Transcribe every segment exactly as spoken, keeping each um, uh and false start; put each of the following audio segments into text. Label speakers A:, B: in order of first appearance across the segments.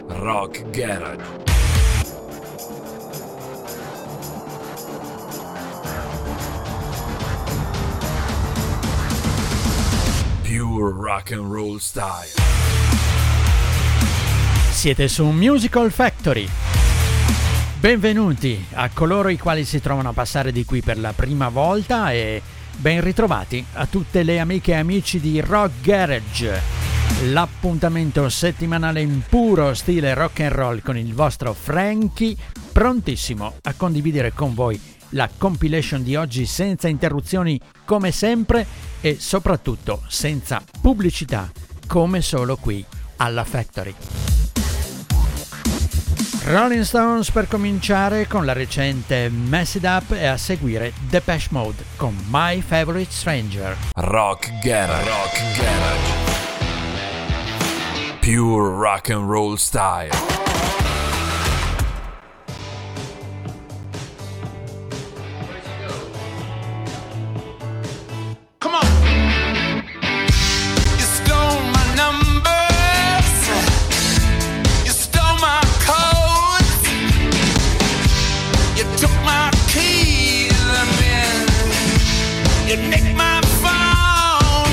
A: Rock Garage. Pure rock and roll style.
B: Siete su Musical Factory. Benvenuti a coloro i quali si trovano a passare di qui per la prima volta e ben ritrovati a tutte le amiche e amici di Rock Garage, l'appuntamento settimanale in puro stile rock and roll con il vostro Frankie, prontissimo a condividere con voi la compilation di oggi senza interruzioni come sempre e soprattutto senza pubblicità come solo qui alla Factory. Rolling Stones per cominciare con la recente Mess It Up e a seguire Depeche Mode con My Favorite Stranger.
A: Rock Garage. Rock Garage. Pure rock and roll style.
C: You nicked my phone,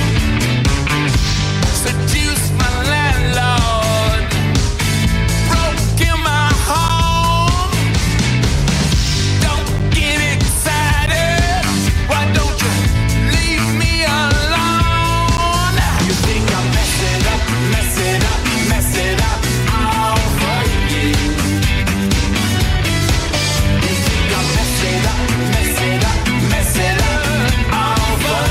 C: seduced my landlord, broke in my home. Don't get excited, why don't you leave me alone? You think I mess it up, mess it up, mess it up all for you. You think I mess it up, mess it up, mess it up all for you.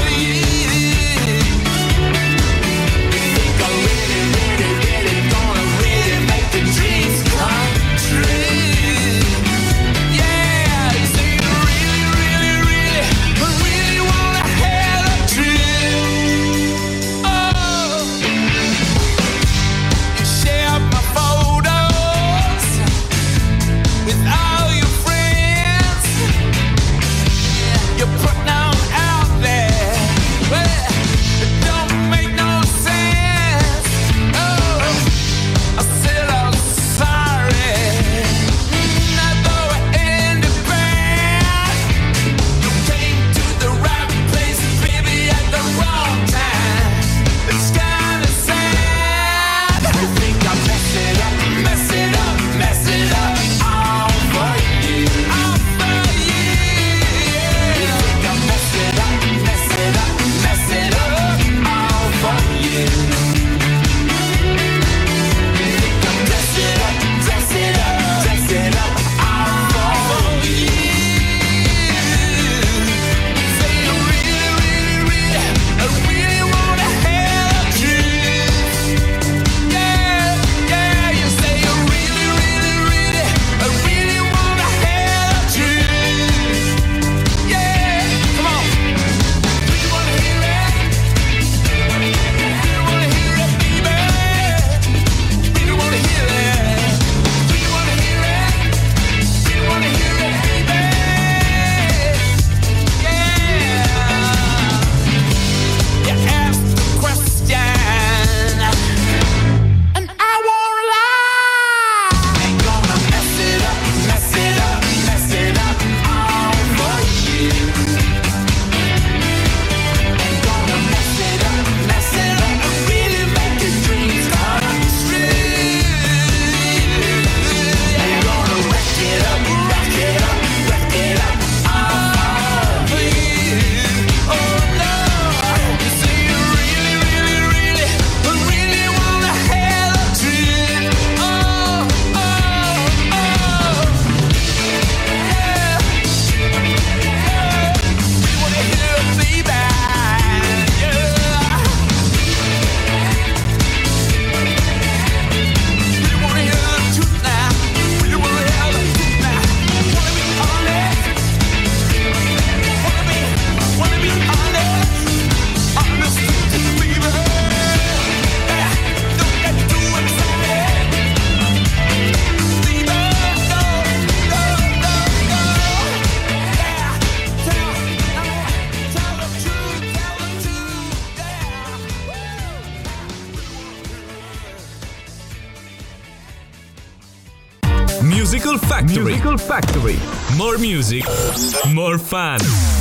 D: Musical Factory. Musical Factory. More music, more fun.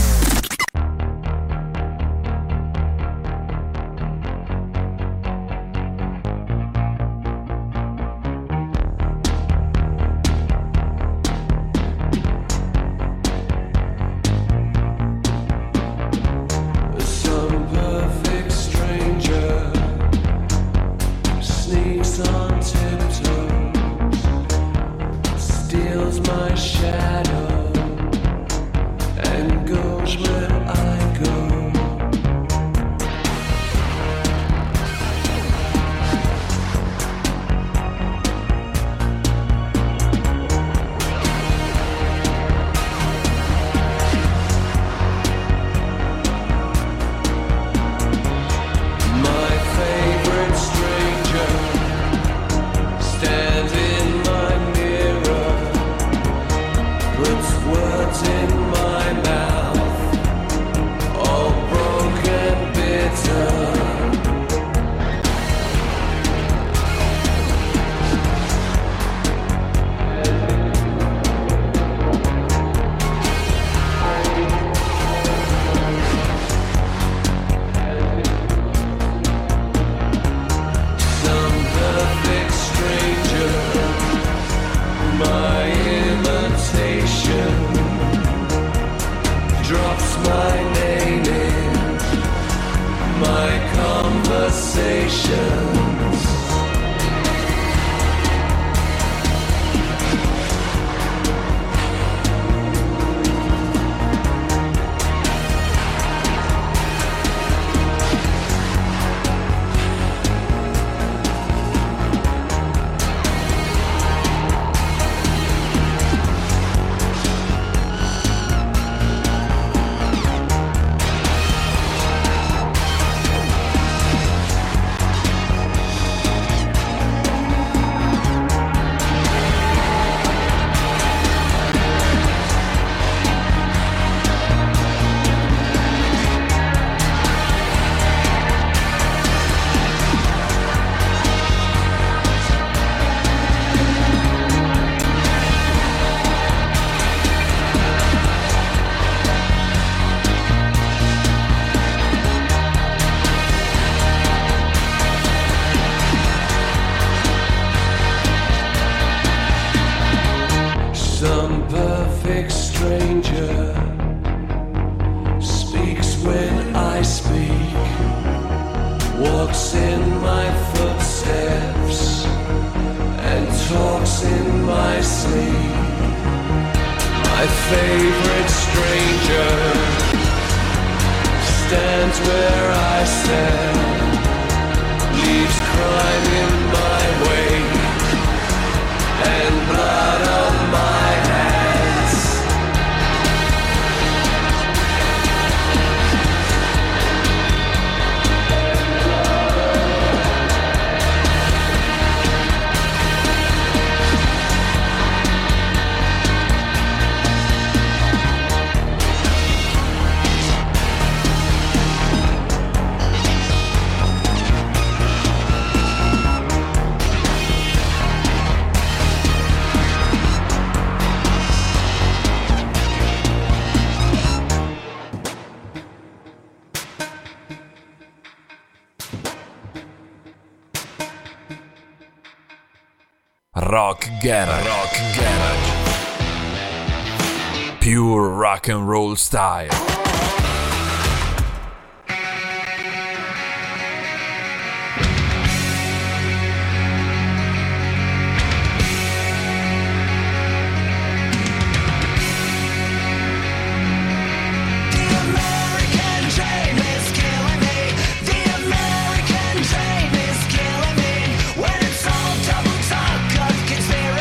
A: Rock Garage. Rock Garage. Pure rock and roll style.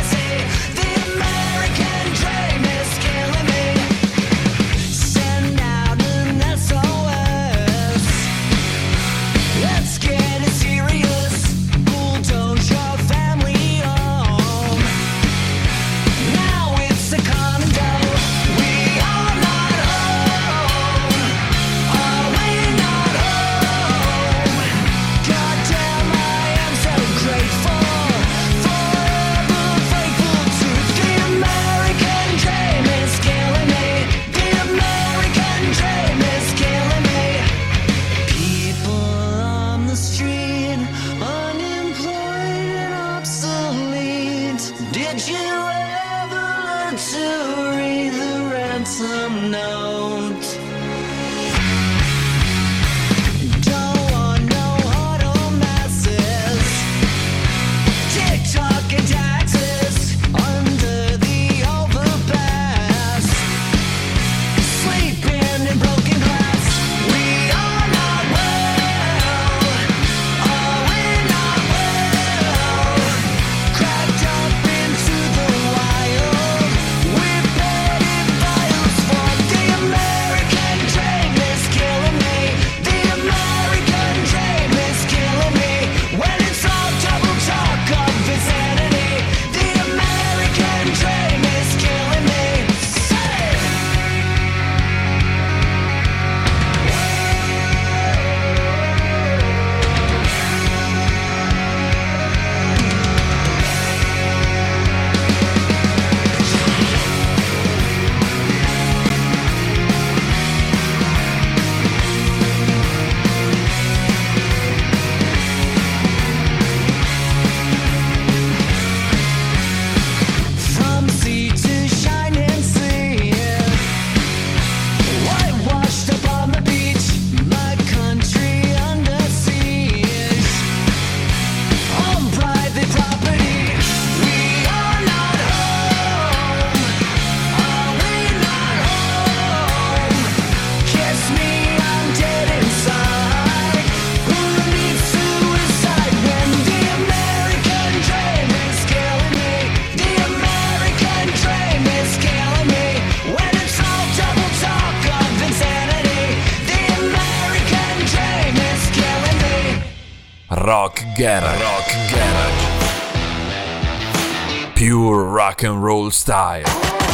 E: Send out
A: Rock Garage. Rock Garage. Pure rock and roll style.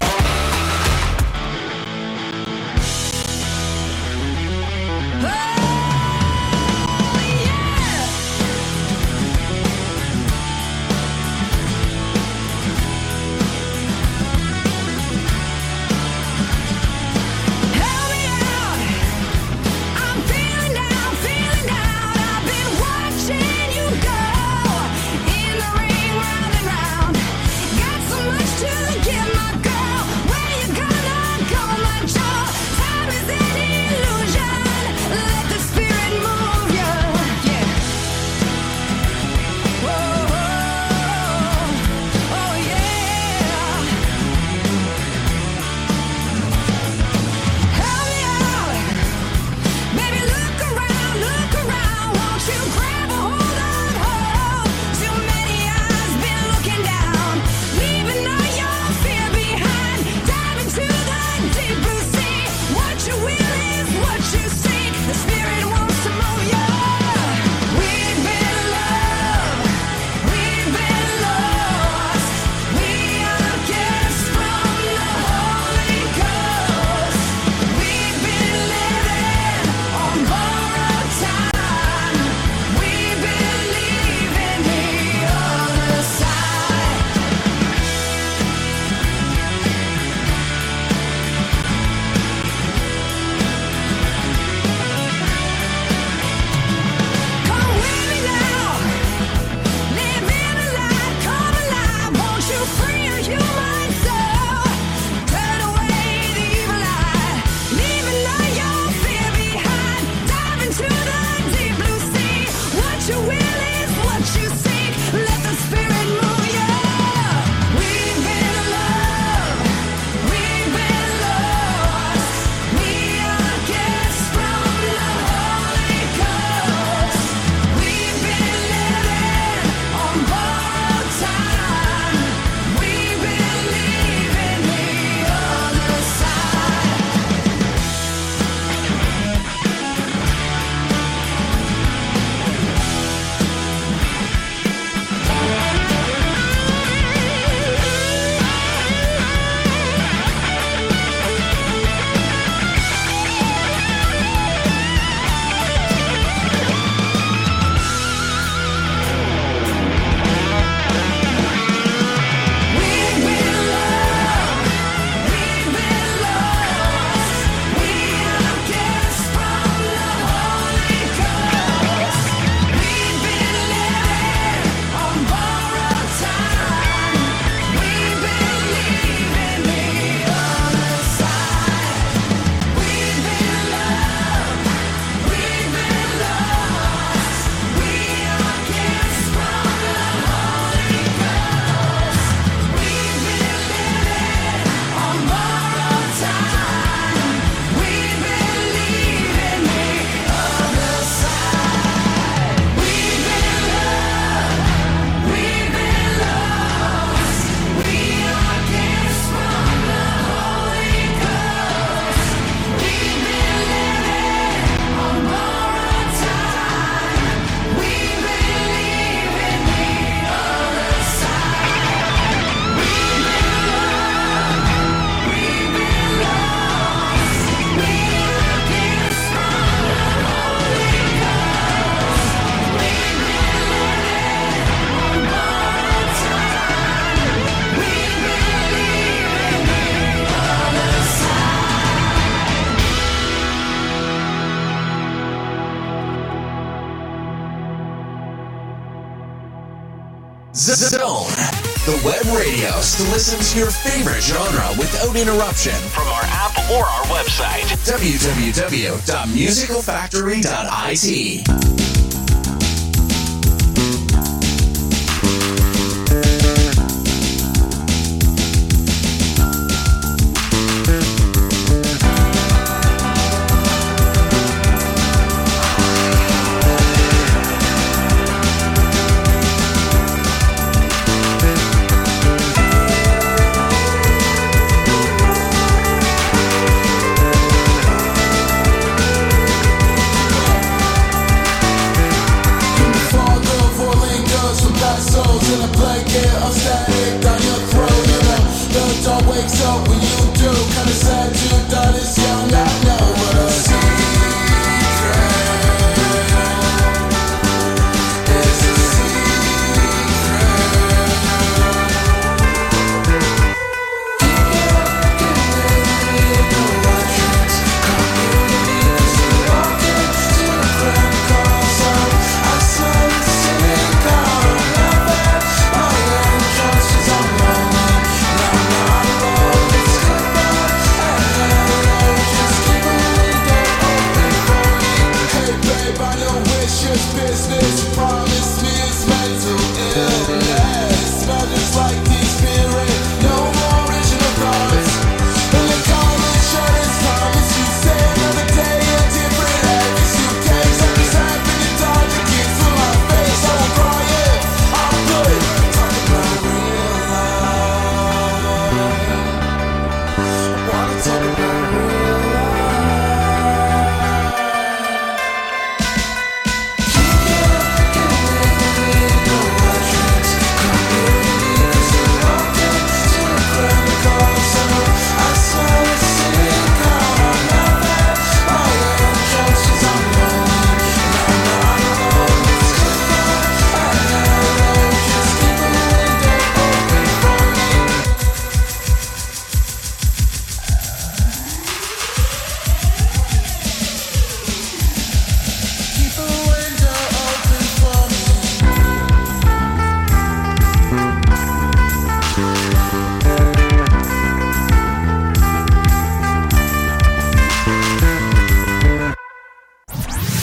E: Zone, the web radio to listen to your favorite genre without interruption from our app or our website, w w w dot musical factory dot i t.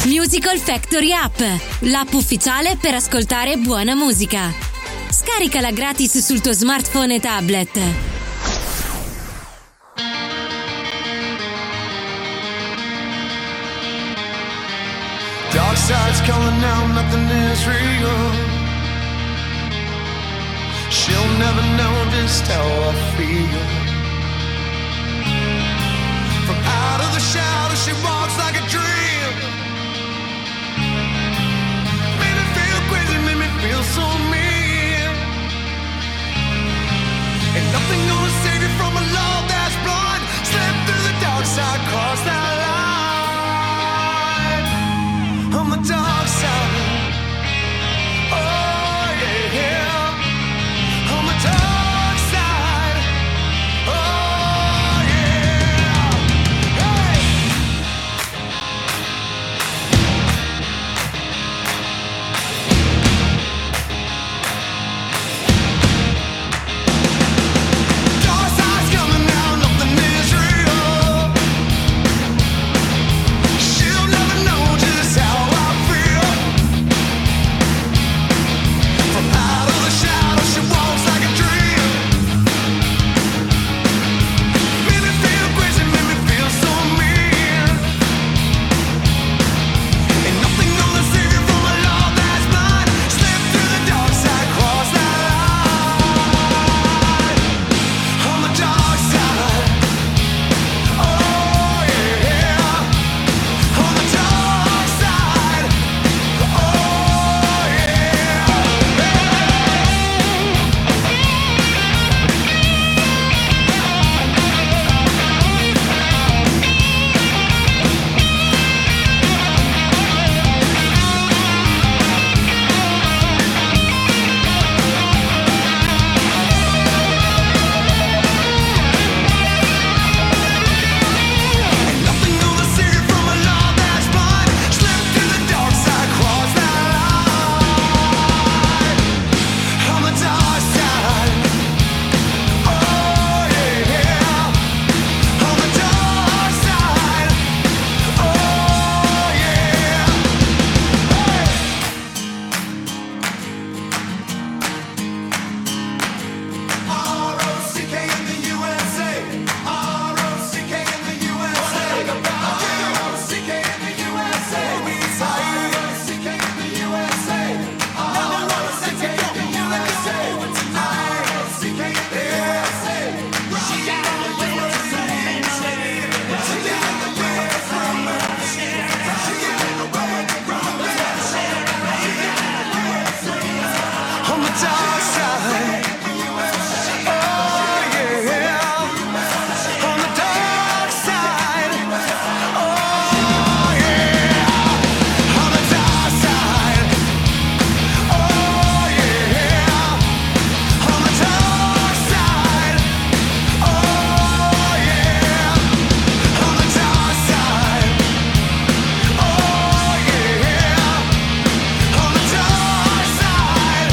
F: Musical Factory App, l'app ufficiale per ascoltare buona musica. Scaricala gratis sul tuo smartphone e tablet.
C: Dark side's calling out, nothing is real. She'll never know just how I feel. From out of the shadow she walks like a dream. Made me feel crazy, made me feel so mean. Ain't nothing gonna save you from a love that's blind. Slip through the dark side, cross that line. On the dark side. Oh yeah, yeah. On the dark side. Oh yeah. Hey. Dark side's coming now, nothing is real. She'll never know just how I feel. From out of the shadow she walks like a dream. Made me feel crazy, made me feel so mean. Ain't nothing gonna save you from a love that's blind. Slip through the dark side, cross that line. On the dark side. Oh yeah. On the dark side. Oh yeah. Ain't nothing gonna save you from a love that's blind. Slip through the dark side, cross that line. On the dark side. Oh yeah. On the dark side. Oh yeah. R O C K in the U S A. R O C K in the U S A. R O C K in the U S A. R O C K in the U S A. R O C K in the U S A. R O C K in the U S A. She got the U S A. She got the U S A. On the dark side. Oh yeah. On the dark side. Oh yeah. On the dark side. Oh yeah. On the dark side. Oh yeah. On the dark side. Oh yeah. On the dark side.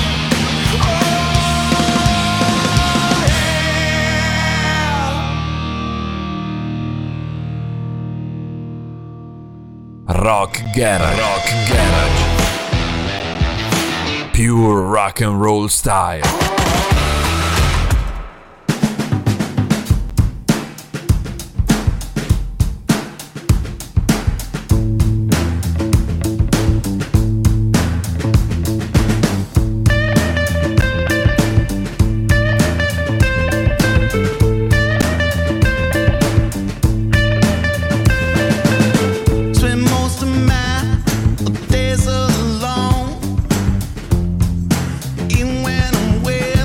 A: Rock Garage. Rock Garage. Pure rock and roll style.
C: Spend most of my days alone, even when I'm with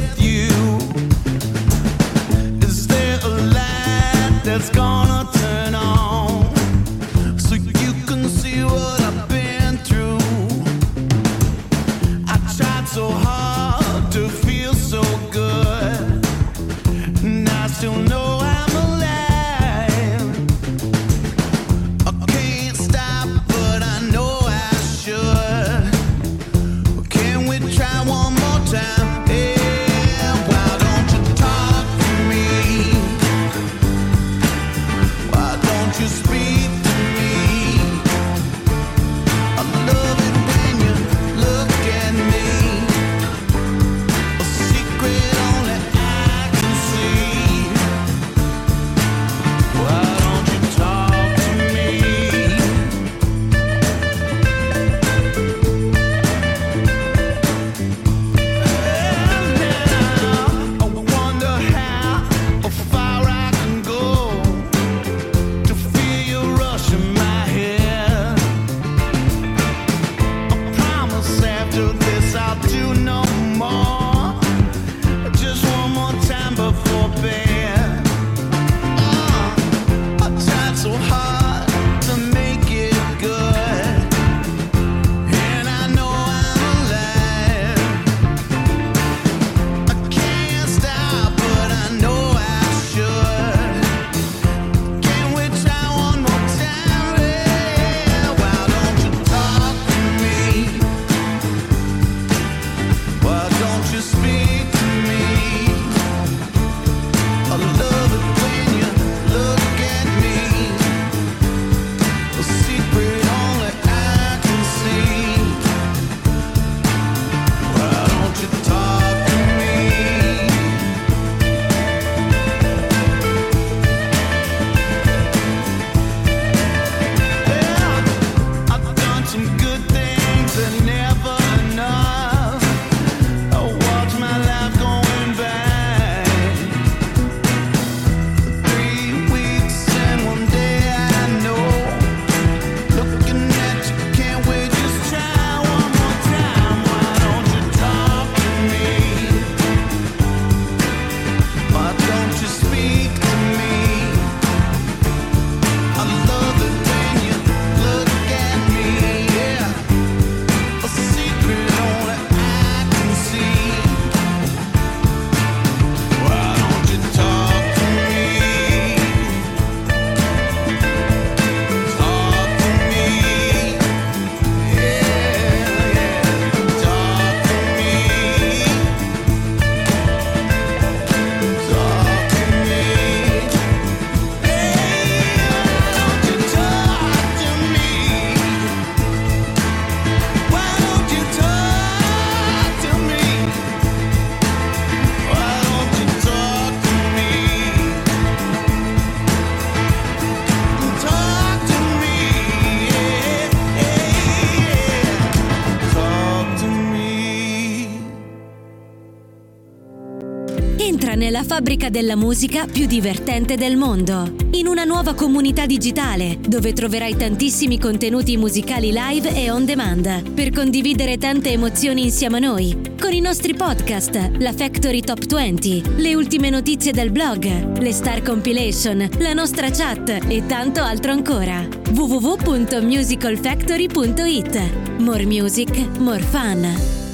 F: la fabbrica della musica più divertente del mondo. In una nuova comunità digitale, dove troverai tantissimi contenuti musicali live e on demand, per condividere tante emozioni insieme a noi, con i nostri podcast, la Factory Top venti, le ultime notizie del blog, le Star Compilation, la nostra chat e tanto altro ancora. w w w punto musical factory punto i t. More music, more fun.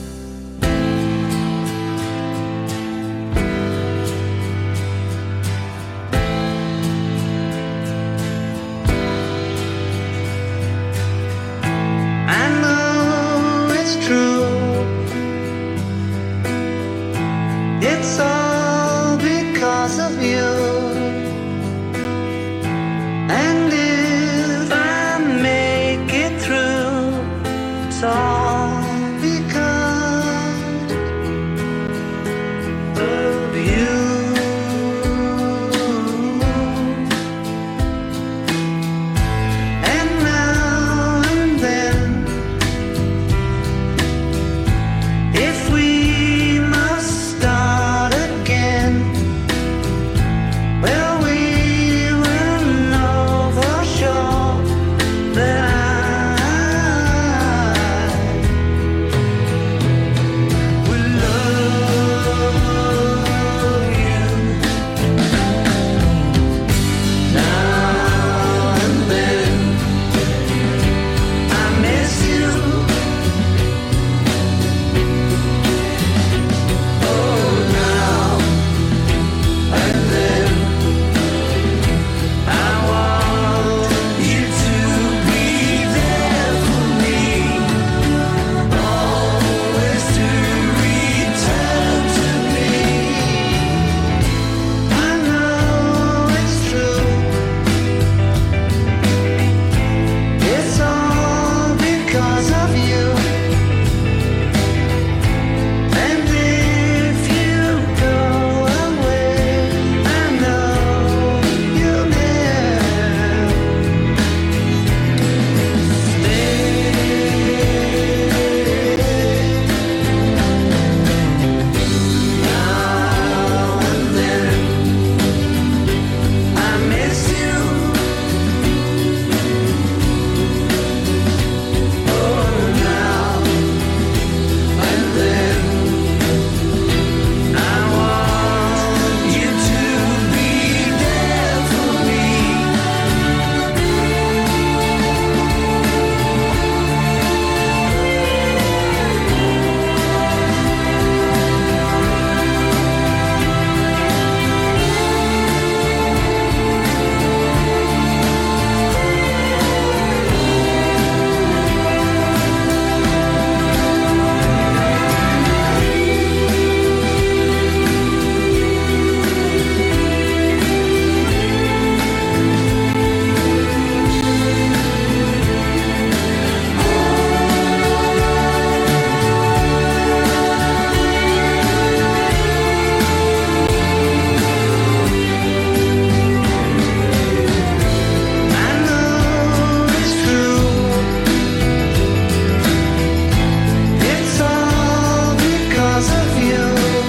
G: It's all because of you. And if I make it through, it's all because of you. And now and then, if we must start again, well, we will know for sure that I will love you. Now and then, I miss you. Oh, now and then, I want you to be there for me, always to return to me. I know it's true. It's all because of you. And if you go away, I know you'll never stay. Now and then, I miss you. Oh, now and then, I want you to be there for me. I know it's true. It's all because of you.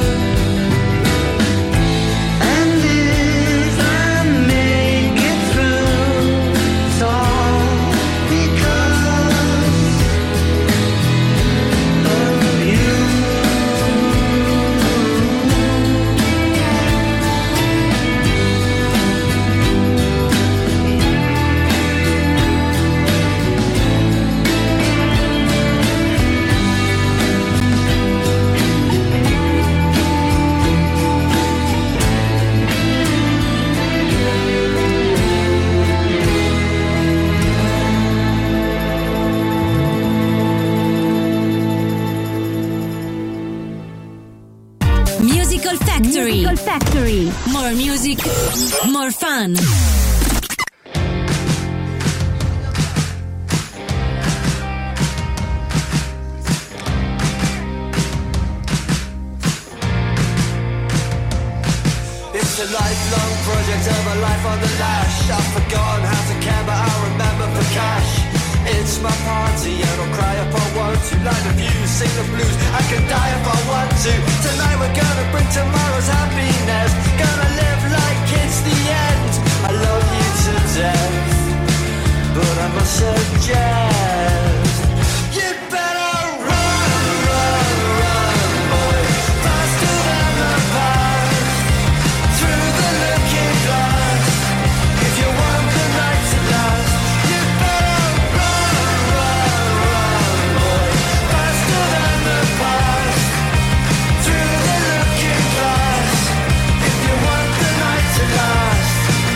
G: And if I make it through, it's all because of you.
F: Musical Factory. Musical Factory. More music, more fun.
G: It's a lifelong project of a life on the lash. I've forgotten how to care, but I remember for cash. It's my party and I'll cry if I want to. Like the views, sing the blues, I can die if I want to. Tonight we're gonna bring tomorrow's happiness. Gonna live like it's the end. I love you to death, but I must suggest you'd better run, run, run, boy, faster than the past, through the looking glass. If you want the night to last, you'd better run, run, run, boy, faster than the past, through the looking glass. If you want the night to last.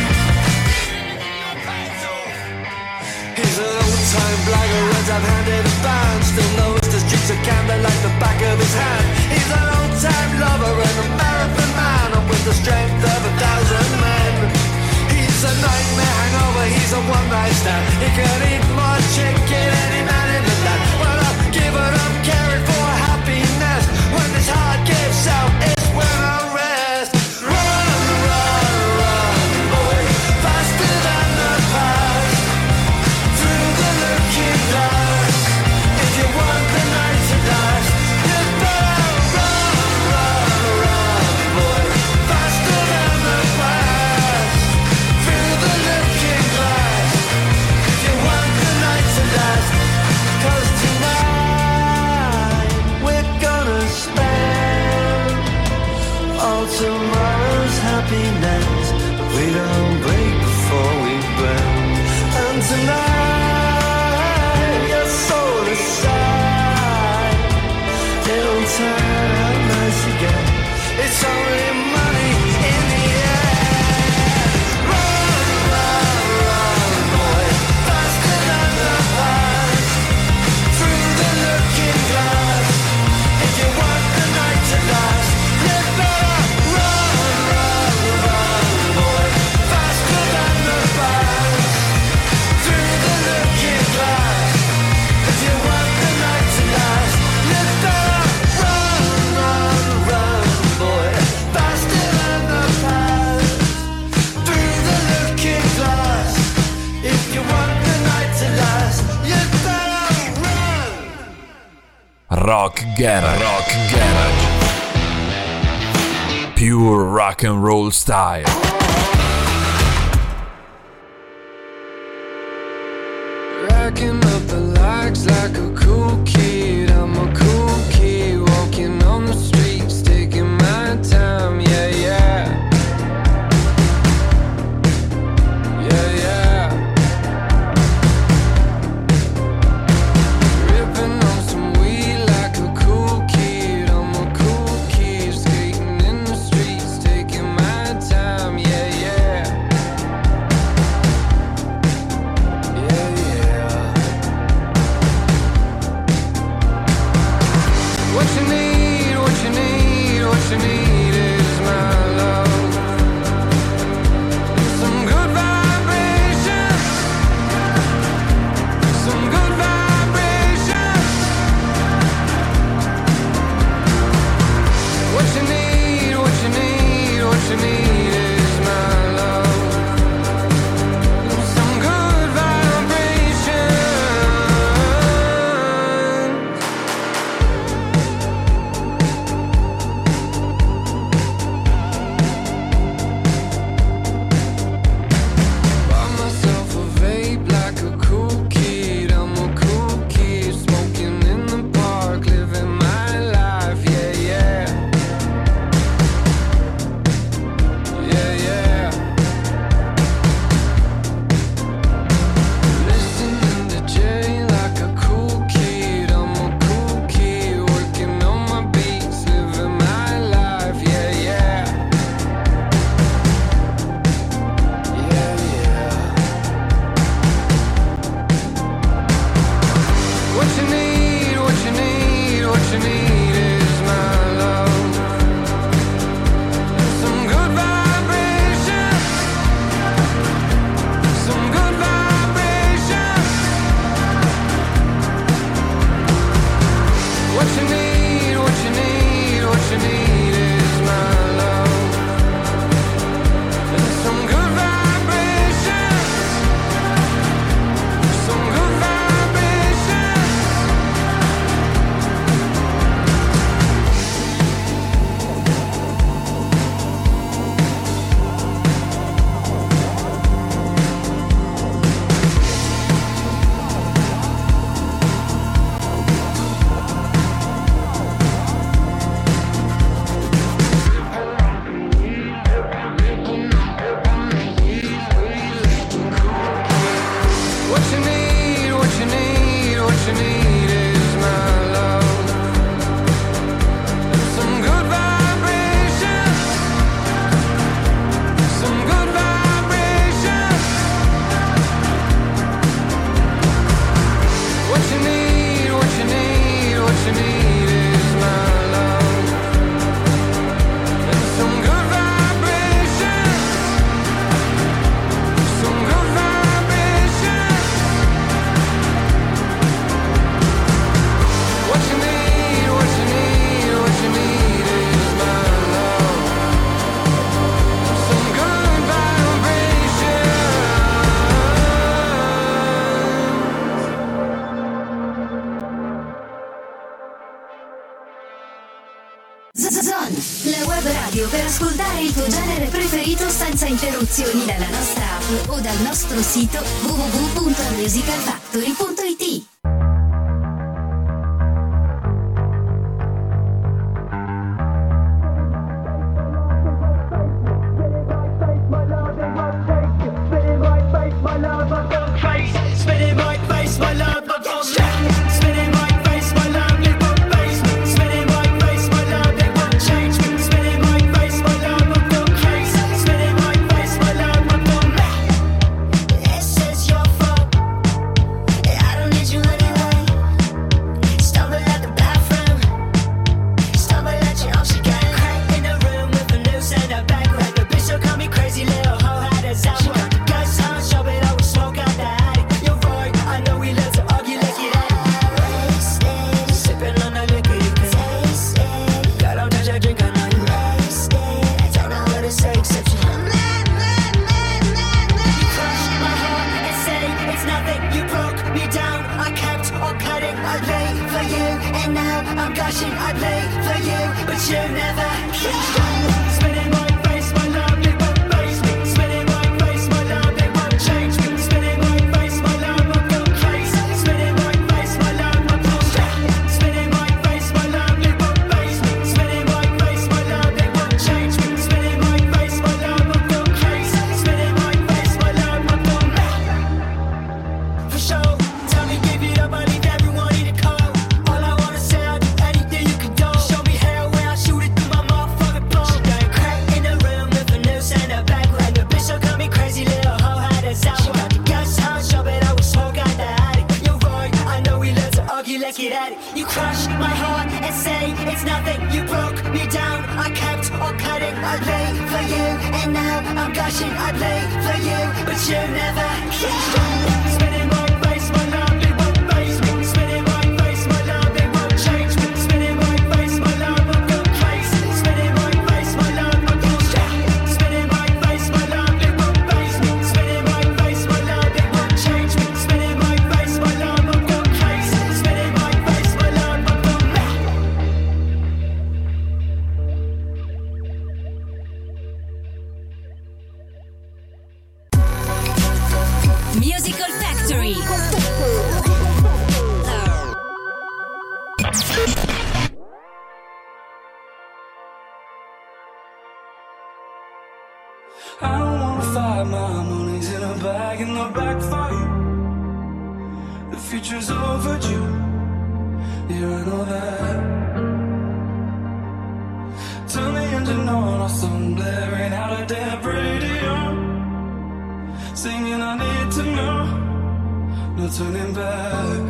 G: He's an old-time blagger, runs up-handed and band. Still knows the streets of Camden like the back of his hand. He's an old-time lover and a marathon man, and with the strength of a thousand men. He's a nightmare hangover, he's a one-night stand. He can eat more chicken than any man in the land. Well, I've given up caring for happiness. When this heart gives out, it's when I rest. Run, run, run, boy, faster than the past, through the looking glass. If you want the night to last, you better run, run, run, boy, faster than the past, through the looking glass. If you want the night to last, 'cause tonight we're gonna spend all tomorrow's happiness. We don't break before we burn. And tonight your soul aside, it'll turn out nice again. It's only money in the end. Run, run, run, boy, faster than the past, through the looking glass. If you want the night to last, you better run, run, run, boy, faster than the past, through the looking glass. If you want the night to last, you better run, run, run, boy, faster than the past, through the looking glass. If you want the night to last, you better run.
A: Rock Garage. Rock Garage. Pure rock and roll style.
H: Racking up the likes like a cool kid. I'm a cool kid walking on the streets, taking my time. Yeah, yeah. Yeah, yeah. Ripping on some weed like a cool kid. I'm a cool kid skating in the streets, taking my time. Yeah, yeah. Yeah, yeah. What you need, what you need, what you need is my love. Some good vibrations, some good vibrations. What you need, what you need, what you need is my love. Some good vibrations. Buy myself a vape like a cool kid. I'm a cool kid smoking in the park, living my life. Yeah, yeah. Yeah, yeah. Listening to Jay like a cool kid. I'm a cool kid working on my beats, living my life. Yeah, yeah. Yeah, yeah. What you need, what you need, what you need is my love. Some good vibrations, some good vibrations. What you need, what you need, what you need is my love. Some good vibrations, some good vibrations. what you need is my love. Some good vibrations, some good vibrations. What you need, what you need, what you need is my love. And some good vibrations, some good vibrations. What you need, what you need, what you need is my love. Some good vibrations.
F: Zone, la web radio per ascoltare il tuo genere preferito senza interruzioni dalla nostra app o dal nostro sito w w w punto musical factory punto i t. Musical Factory.
H: I don't wanna fight, my money's in a bag, in the back for you. The future's overdue, yeah, I know that. Turn the engine on, or some blaring out a dead radio, singing I need to know, no turning back.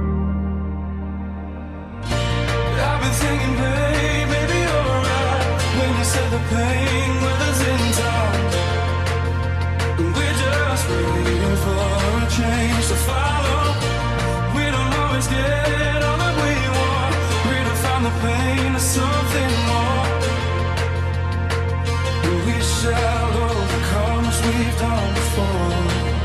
H: I've been thinking, babe, maybe you're right when you said the pain weathers in time. We're just waiting for a change to follow. We don't always get all that we want. Redefine the pain to something more. We shall overcome as we've done before.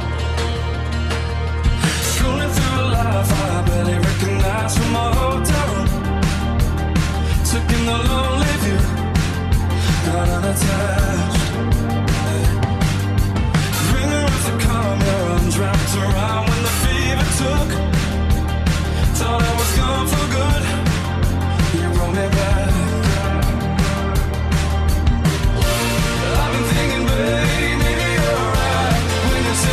H: Scrolling through life, I barely recognize from my hotel room. Took in the lonely view, got unattached. Ringer of the calm, your arms wrapped around when the fever took. Thought I was gone for good, you brought me back. I've been thinking, babe, maybe you're right when you say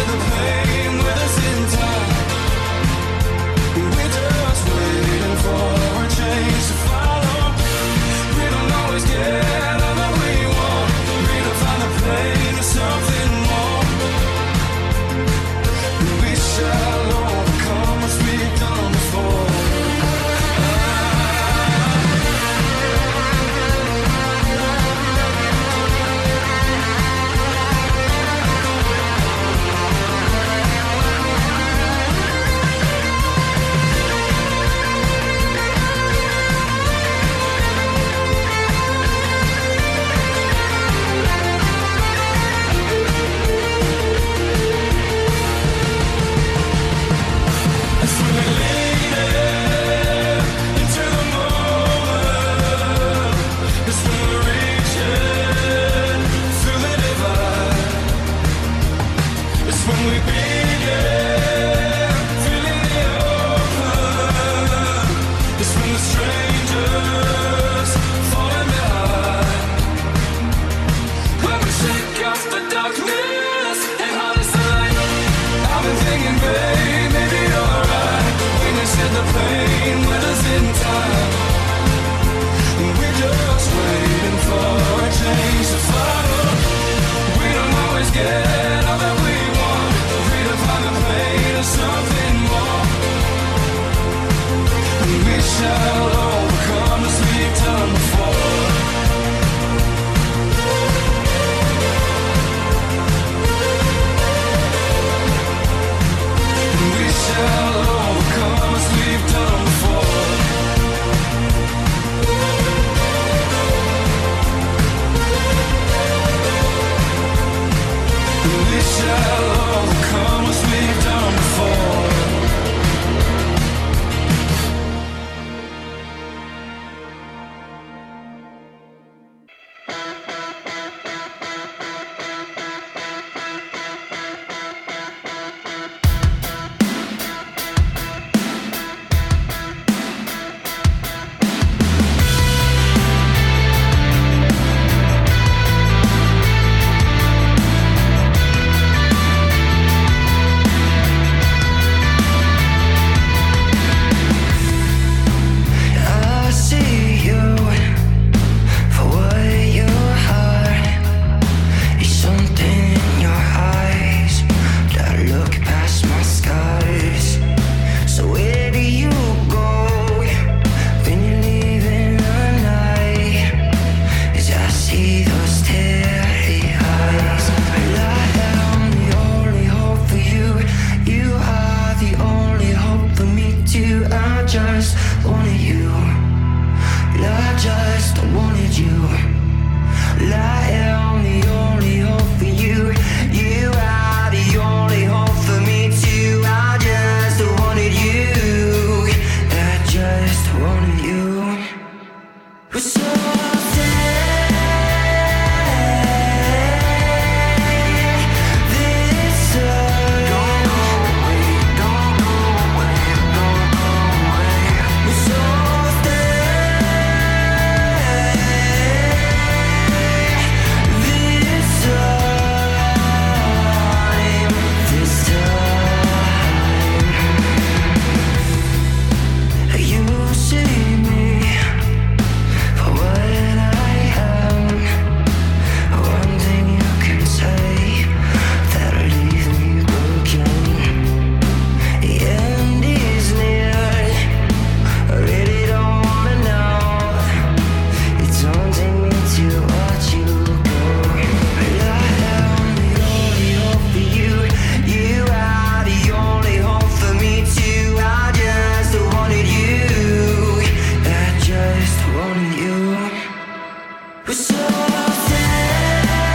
H: shall overcome as we've done before. And we shall overcome as we've done before. And we shall overcome as we've done before. I see you for what you are. There's something in your eyes that look past my scars. So where do you go when you're leaving the night? As I see those teary eyes, well, I am the only hope for you. You are the only hope for me too. I just wanted you. I just wanted you. I am the only hope for you. You are the only hope for me too. I just wanted you. I just wanted you. So stay this time. Don't go away, don't go away, don't go away. So stay this time, this time. You see me for what I am. One thing you can say that'll leave me broken. The end is near. I really don't wanna know. It's haunting me to watch you go. But I am the only hope for you. You are the only hope for me too. I just wanted you. I just wanted you. So stay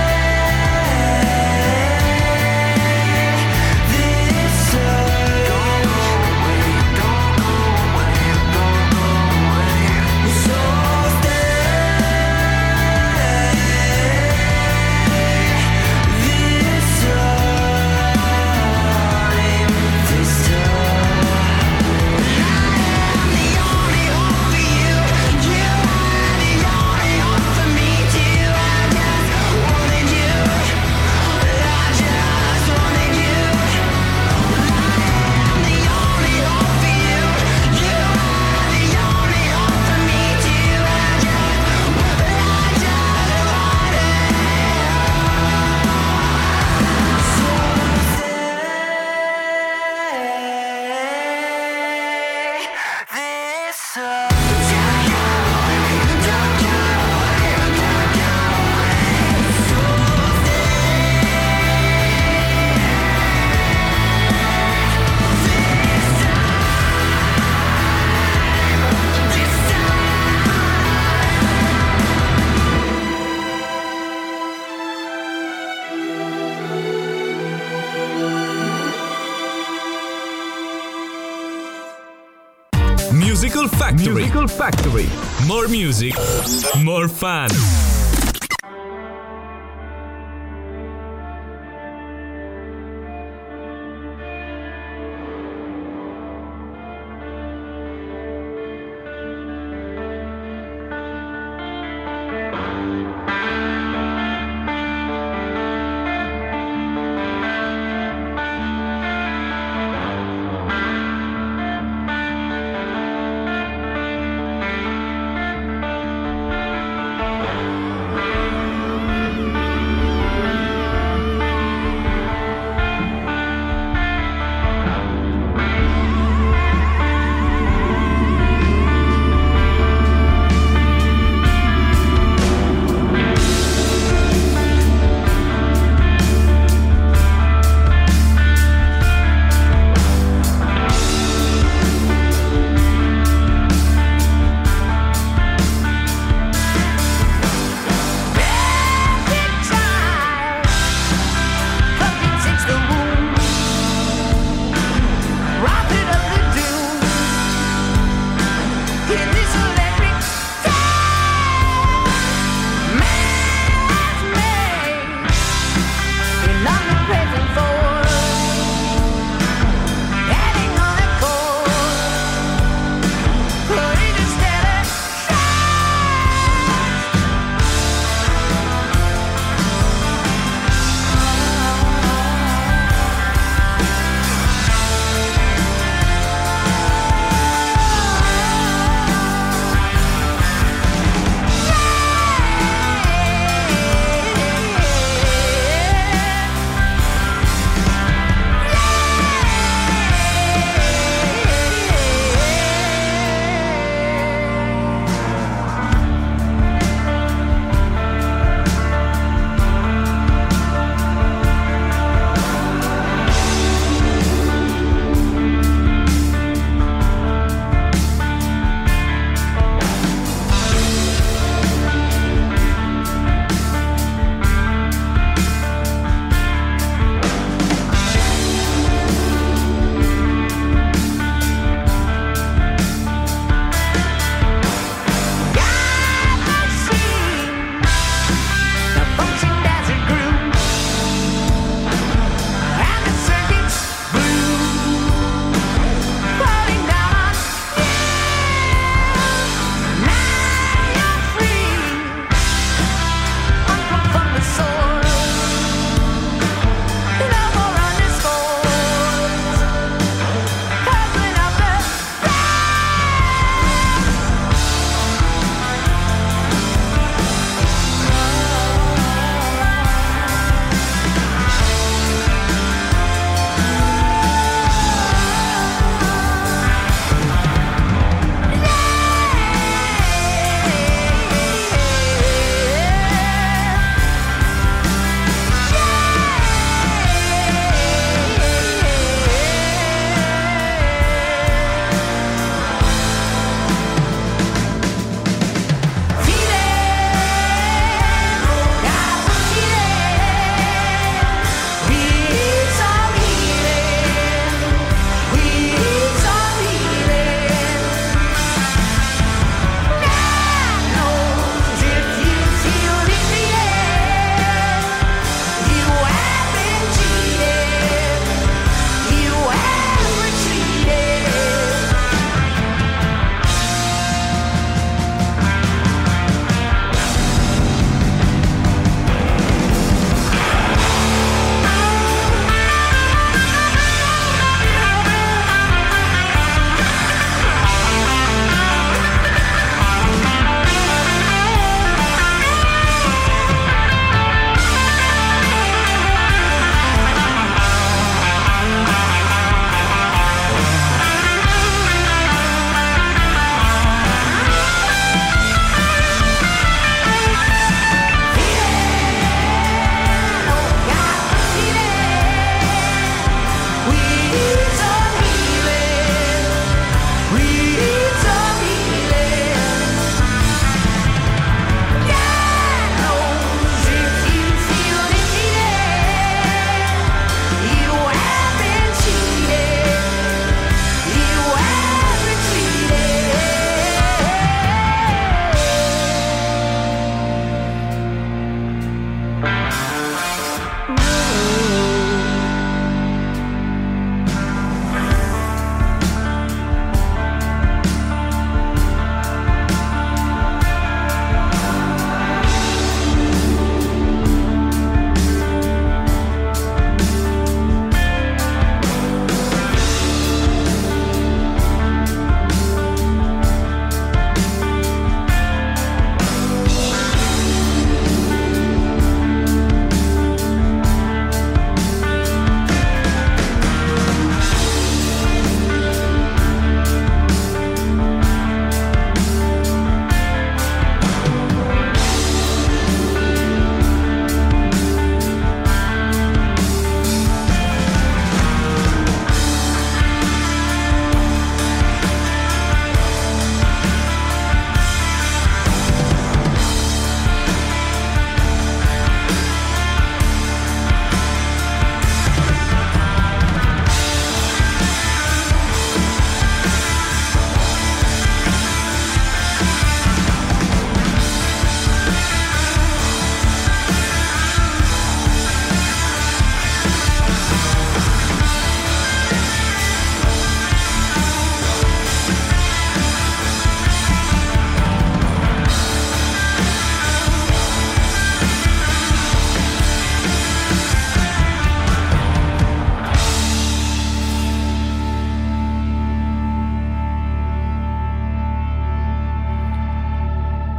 H: this time. Don't go away, don't go away, don't go away. So stay this time, this time. I am the only hope for you. You are the only hope for me too. I just wanted you. I just wanted you. I am the only hope for you. You are the only hope for me too. I just, I just wanted so stay this time.
D: Musical Factory. Musical Factory. More music, more fun.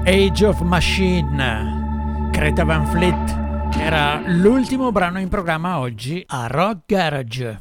B: Age of Machine, Greta Van Fleet, era l'ultimo brano in programma oggi a Rock Garage.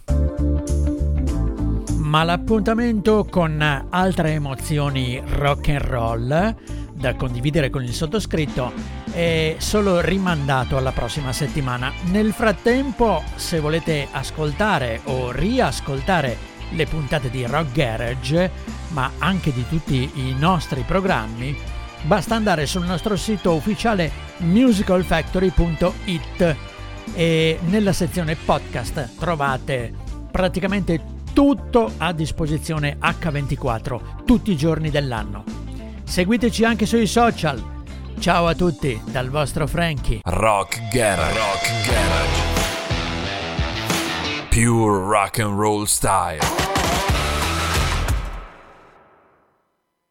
B: Ma l'appuntamento con altre emozioni rock and roll da condividere con il sottoscritto è solo rimandato alla prossima settimana. Nel frattempo, se volete ascoltare o riascoltare le puntate di Rock Garage, ma anche di tutti i nostri programmi, basta andare sul nostro sito ufficiale musical factory punto it e nella sezione podcast trovate praticamente tutto a disposizione acca ventiquattro tutti i giorni dell'anno. Seguiteci anche sui social. Ciao a tutti dal vostro Frankie.
A: Rock Garage. Rock Garage. Pure rock and roll style.